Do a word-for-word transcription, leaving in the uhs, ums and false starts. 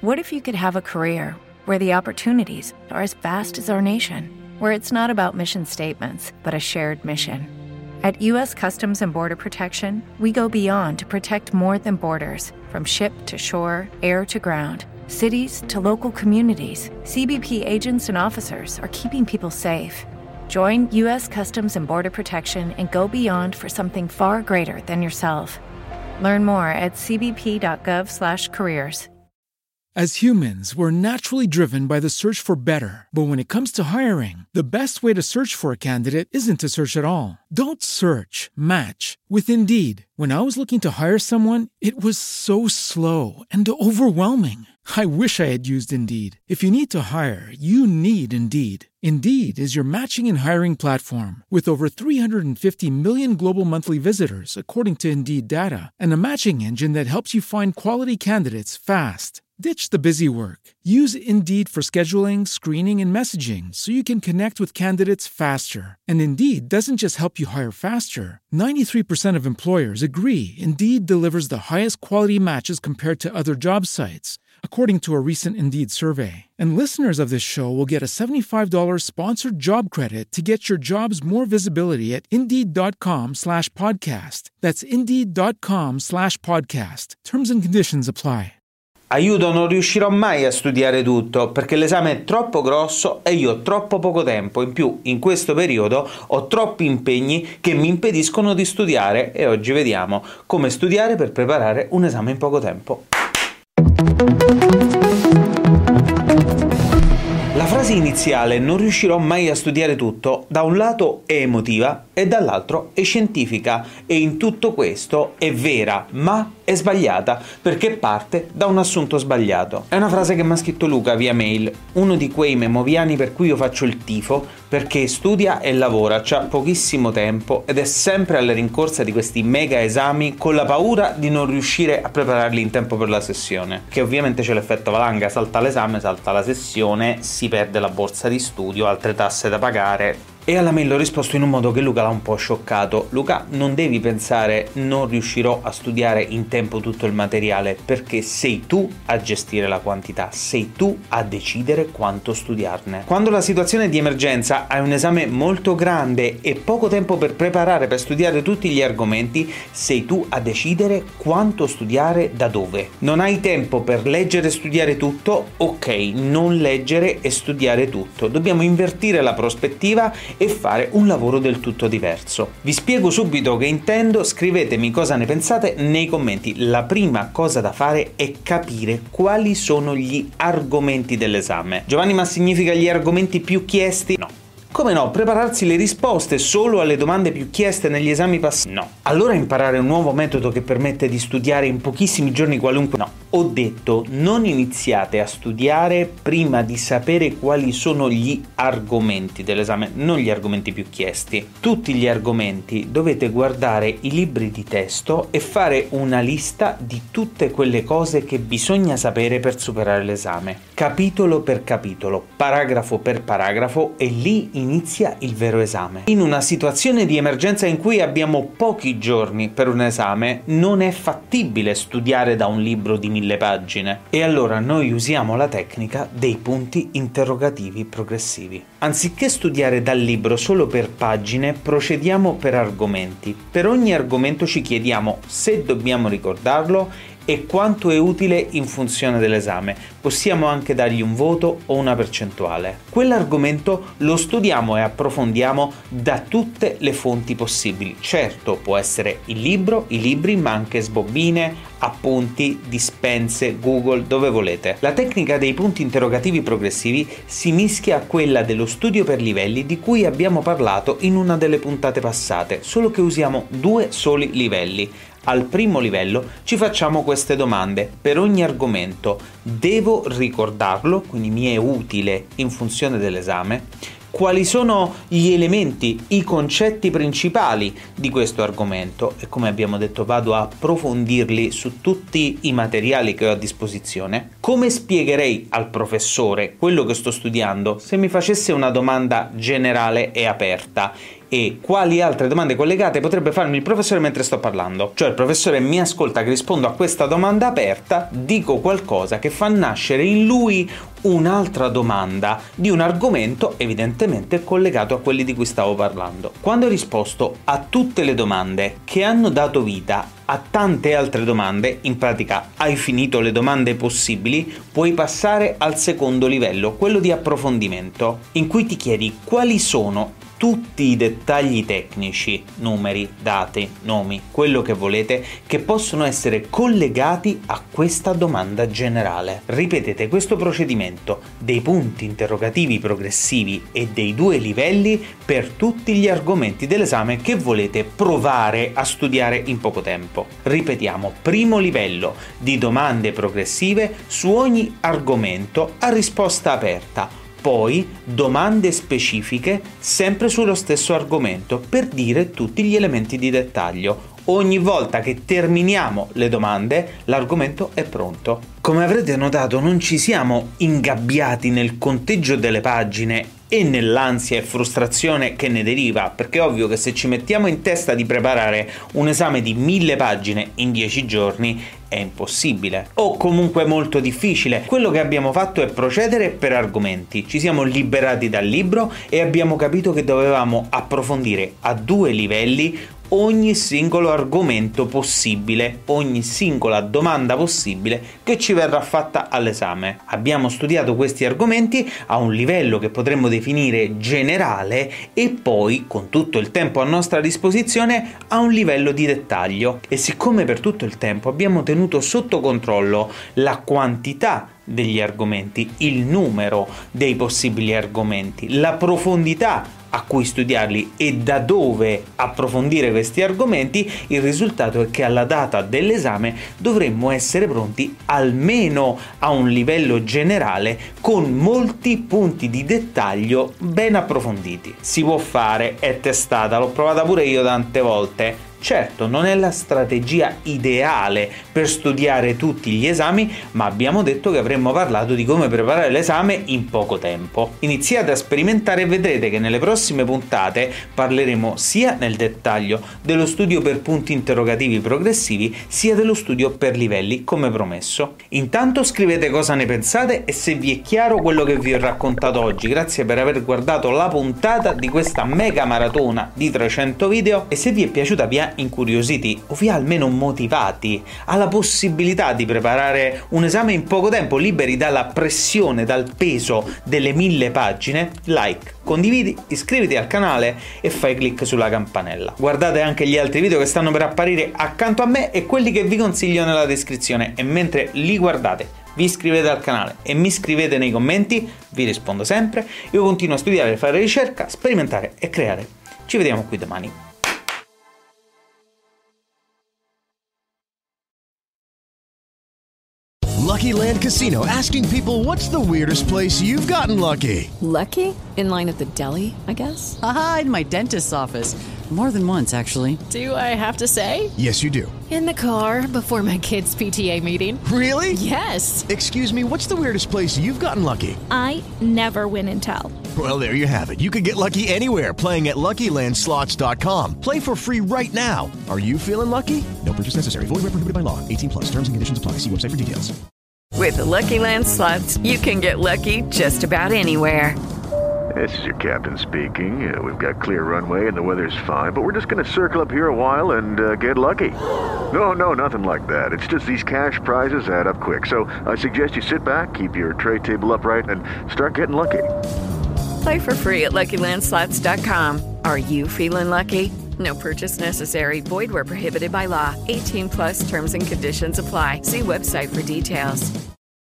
What if you could have a career where the opportunities are as vast as our nation, where it's not about mission statements, but a shared mission? At U S Customs and Border Protection, we go beyond to protect more than borders. From ship to shore, air to ground, cities to local communities, C B P agents and officers are keeping people safe. Join U S Customs and Border Protection and go beyond for something far greater than yourself. Learn more at c b p dot gov slash careers. As humans, we're naturally driven by the search for better. But when it comes to hiring, the best way to search for a candidate isn't to search at all. Don't search, match with Indeed. When I was looking to hire someone, it was so slow and overwhelming. I wish I had used Indeed. If you need to hire, you need Indeed. Indeed is your matching and hiring platform with over three hundred fifty million global monthly visitors, according to Indeed data, and a matching engine that helps you find quality candidates fast. Ditch the busy work. Use Indeed for scheduling, screening, and messaging so you can connect with candidates faster. And Indeed doesn't just help you hire faster. ninety-three percent of employers agree Indeed delivers the highest quality matches compared to other job sites, according to a recent Indeed survey. And listeners of this show will get a seventy-five dollars sponsored job credit to get your jobs more visibility at Indeed.com slash podcast. That's Indeed.com slash podcast. Terms and conditions apply. Aiuto, non riuscirò mai a studiare tutto perché l'esame è troppo grosso e io ho troppo poco tempo. In più, in questo periodo ho troppi impegni che mi impediscono di studiare e oggi vediamo come studiare per preparare un esame in poco tempo. La frase iniziale "non riuscirò mai a studiare tutto" da un lato è emotiva e dall'altro è scientifica, e in tutto questo è vera, ma è sbagliata perché parte da un assunto sbagliato. È una frase che mi ha scritto Luca via mail, uno di quei memoviani per cui io faccio il tifo perché studia e lavora, c'ha pochissimo tempo ed è sempre alla rincorsa di questi mega esami con la paura di non riuscire a prepararli in tempo per la sessione, che ovviamente c'è l'effetto valanga: salta l'esame, salta la sessione, si perde la borsa di studio, altre tasse da pagare. E alla mail ho risposto in un modo che Luca l'ha un po' scioccato. Luca, non devi pensare non riuscirò a studiare in tempo tutto il materiale, perché sei tu a gestire la quantità, sei tu a decidere quanto studiarne. Quando la situazione è di emergenza, hai un esame molto grande e poco tempo per preparare, per studiare tutti gli argomenti, sei tu a decidere quanto studiare da dove. Non hai tempo per leggere e studiare tutto? Ok, non leggere e studiare tutto. Dobbiamo invertire la prospettiva e fare un lavoro del tutto diverso. Vi spiego subito che intendo, scrivetemi cosa ne pensate nei commenti. La prima cosa da fare è capire quali sono gli argomenti dell'esame. Giovanni, ma significa gli argomenti più chiesti? No. Come no? Prepararsi le risposte solo alle domande più chieste negli esami passati? No. Allora imparare un nuovo metodo che permette di studiare in pochissimi giorni qualunque? No. Ho detto, non iniziate a studiare prima di sapere quali sono gli argomenti dell'esame, non gli argomenti più chiesti. Tutti gli argomenti dovete guardare i libri di testo e fare una lista di tutte quelle cose che bisogna sapere per superare l'esame. Capitolo per capitolo, paragrafo per paragrafo, e lì inizia il vero esame. In una situazione di emergenza in cui abbiamo pochi giorni per un esame, non è fattibile studiare da un libro di mille pagine, e allora noi usiamo la tecnica dei punti interrogativi progressivi. Anziché studiare dal libro solo per pagine, procediamo per argomenti. Per ogni argomento ci chiediamo se dobbiamo ricordarlo e quanto è utile in funzione dell'esame. Possiamo anche dargli un voto o una percentuale. Quell'argomento lo studiamo e approfondiamo da tutte le fonti possibili. Certo, può essere il libro, i libri, ma anche sbobine, appunti, dispense, Google, dove volete. La tecnica dei punti interrogativi progressivi si mischia a quella dello studio per livelli di cui abbiamo parlato in una delle puntate passate, solo che usiamo due soli livelli. Al primo livello ci facciamo queste domande. Per ogni argomento devo ricordarlo, quindi mi è utile in funzione dell'esame. Quali sono gli elementi, i concetti principali di questo argomento, e come abbiamo detto vado a approfondirli su tutti i materiali che ho a disposizione. Come spiegherei al professore quello che sto studiando se mi facesse una domanda generale e aperta? e quali altre domande collegate potrebbe farmi il professore mentre sto parlando. Cioè il professore mi ascolta che rispondo a questa domanda aperta, dico qualcosa che fa nascere in lui un'altra domanda di un argomento evidentemente collegato a quelli di cui stavo parlando. Quando hai risposto a tutte le domande che hanno dato vita a tante altre domande, in pratica hai finito le domande possibili, puoi passare al secondo livello, quello di approfondimento, in cui ti chiedi quali sono tutti i dettagli tecnici, numeri, dati, nomi, quello che volete, che possono essere collegati a questa domanda generale. Ripetete questo procedimento dei punti interrogativi progressivi e dei due livelli per tutti gli argomenti dell'esame che volete provare a studiare in poco tempo. Ripetiamo, primo livello di domande progressive su ogni argomento a risposta aperta. Poi domande specifiche sempre sullo stesso argomento per dire tutti gli elementi di dettaglio. Ogni volta che terminiamo le domande, l'argomento è pronto. Come avrete notato, non ci siamo ingabbiati nel conteggio delle pagine e nell'ansia e frustrazione che ne deriva, perché è ovvio che se ci mettiamo in testa di preparare un esame di mille pagine in dieci giorni è impossibile, o comunque molto difficile. Quello che abbiamo fatto è procedere per argomenti, ci siamo liberati dal libro e abbiamo capito che dovevamo approfondire a due livelli ogni singolo argomento possibile, ogni singola domanda possibile che ci verrà fatta all'esame. Abbiamo studiato questi argomenti a un livello che potremmo definire generale e poi, con tutto il tempo a nostra disposizione, a un livello di dettaglio. E siccome per tutto il tempo abbiamo tenuto sotto controllo la quantità degli argomenti, il numero dei possibili argomenti, la profondità a cui studiarli e da dove approfondire questi argomenti, il risultato è che alla data dell'esame dovremmo essere pronti almeno a un livello generale con molti punti di dettaglio ben approfonditi. Si può fare, è testata, l'ho provata pure io tante volte. Certo, non è la strategia ideale per studiare tutti gli esami, ma abbiamo detto che avremmo parlato di come preparare l'esame in poco tempo. Iniziate a sperimentare e vedrete che nelle prossime puntate parleremo sia nel dettaglio dello studio per punti interrogativi progressivi, sia dello studio per livelli, come promesso. Intanto scrivete cosa ne pensate e se vi è chiaro quello che vi ho raccontato oggi. Grazie per aver guardato la puntata di questa mega maratona di trecento video e se vi è piaciuta vi ha incuriositi o vi ha almeno motivati alla possibilità di preparare un esame in poco tempo, liberi dalla pressione, dal peso delle mille pagine, like, condividi, iscriviti al canale e fai clic sulla campanella. Guardate anche gli altri video che stanno per apparire accanto a me e quelli che vi consiglio nella descrizione, e mentre li guardate vi iscrivete al canale e mi scrivete nei commenti, vi rispondo sempre. Io continuo a studiare, fare ricerca, sperimentare e creare. Ci vediamo qui domani. Lucky Land Casino, asking people, what's the weirdest place you've gotten lucky? Lucky? In line at the deli, I guess? Aha, in my dentist's office. More than once, actually. Do I have to say? Yes, you do. In the car before my kids' P T A meeting. Really? Yes. Excuse me, what's the weirdest place you've gotten lucky? I never win and tell. Well, there you have it. You can get lucky anywhere, playing at Lucky Land Slots dot com. Play for free right now. Are you feeling lucky? No purchase necessary. Void where prohibited by law. eighteen plus. Terms and conditions apply. See website for details. With the Lucky Land Slots, you can get lucky just about anywhere. This is your captain speaking. Uh, we've got clear runway and the weather's fine, but we're just going to circle up here a while and uh, get lucky. No, no, nothing like that. It's just these cash prizes add up quick. So I suggest you sit back, keep your tray table upright, and start getting lucky. Play for free at Lucky Land Slots dot com. Are you feeling lucky? No purchase necessary. Void where prohibited by law. eighteen plus terms and conditions apply. See website for details.